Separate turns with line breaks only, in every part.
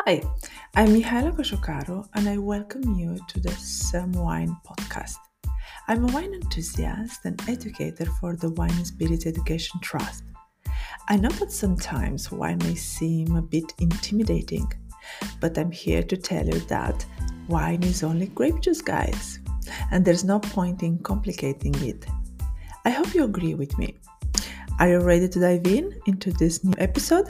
Hi, I'm Mihaela Kosciukaru and I welcome you to the Some Wine podcast. I'm a wine enthusiast and educator for the Wine and Spirit Education Trust. I know that sometimes wine may seem a bit intimidating, but I'm here to tell you that wine is only grape juice, guys, and there's no point in complicating it. I hope you agree with me. Are you ready to dive into this new episode?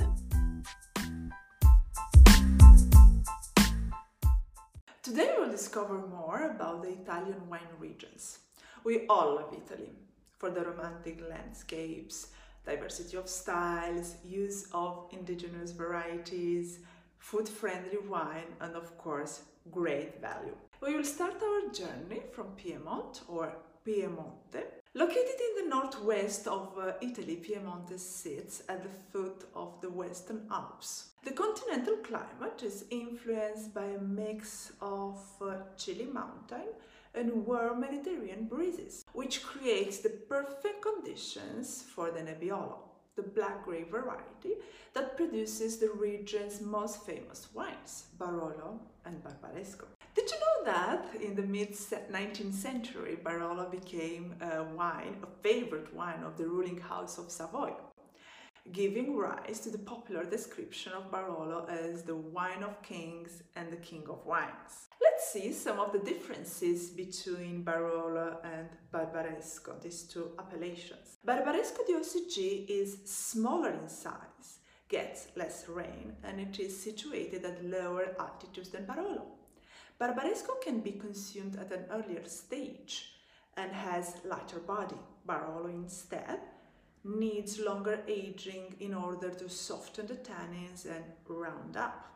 Today we'll discover more about the Italian wine regions. We all love Italy for the romantic landscapes, diversity of styles, use of indigenous varieties, food-friendly wine, and of course, great value. We will start our journey from Piedmont or Piemonte. Located in the northwest of Italy, Piemonte sits at the foot of the Western Alps. The continental climate is influenced by a mix of chilly mountain and warm Mediterranean breezes, which creates the perfect conditions for the Nebbiolo, the black grape variety that produces the region's most famous wines, Barolo and Barbaresco. Did you know that in the mid-19th century, Barolo became a favorite wine of the ruling house of Savoy, giving rise to the popular description of Barolo as the wine of kings and the king of wines. Let's see some of the differences between Barolo and Barbaresco, these two appellations. Barbaresco DOCG is smaller in size, gets less rain, and it is situated at lower altitudes than Barolo. Barbaresco can be consumed at an earlier stage and has lighter body. Barolo instead needs longer aging in order to soften the tannins and round up.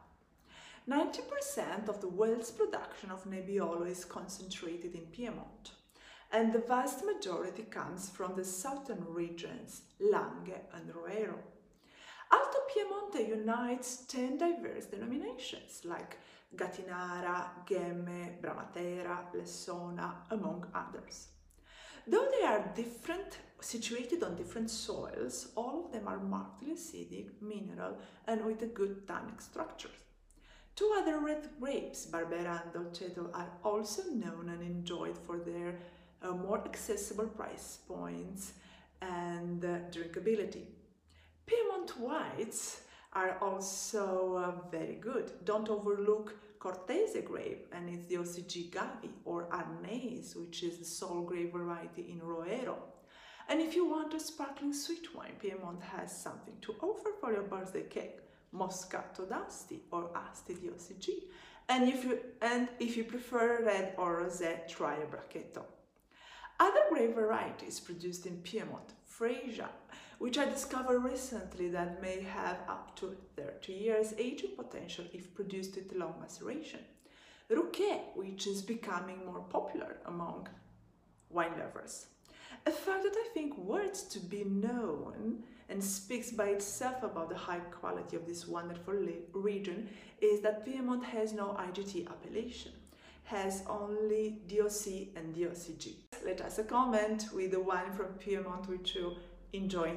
90% of the world's production of Nebbiolo is concentrated in Piedmont, and the vast majority comes from the southern regions, Langhe and Roero. Alto Piemonte unites 10 diverse denominations like Gattinara, Ghemme, Bramatera, Lessona, among others. Though they are situated on different soils, all of them are markedly acidic, mineral, and with a good tannic structure. Two other red grapes, Barbera and Dolcetto, are also known and enjoyed for their more accessible price points and drinkability. Piedmont whites are also very good. Don't overlook Cortese grape and its DOCG Gavi, or Arnese, which is the sole grape variety in Roero. And if you want a sparkling sweet wine, Piedmont has something to offer for your birthday cake: Moscato d'Asti or Asti DOCG. And if you prefer red or rosé, try a Bracchetto. Other grape varieties produced in Piedmont: Fresia, which I discovered recently that may have up to 30 years aging potential if produced with long maceration. Ruché, which is becoming more popular among wine lovers. A fact that I think worth to be known and speaks by itself about the high quality of this wonderful region is that Piedmont has no IGT appellation, has only DOC and DOCG. Let us comment with the wine from Piedmont which you enjoyed.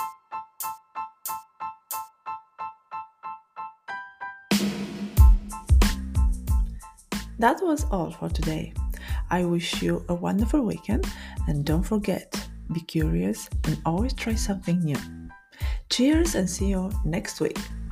That was all for today. I wish you a wonderful weekend, and don't forget, be curious and always try something new. Cheers and see you next week.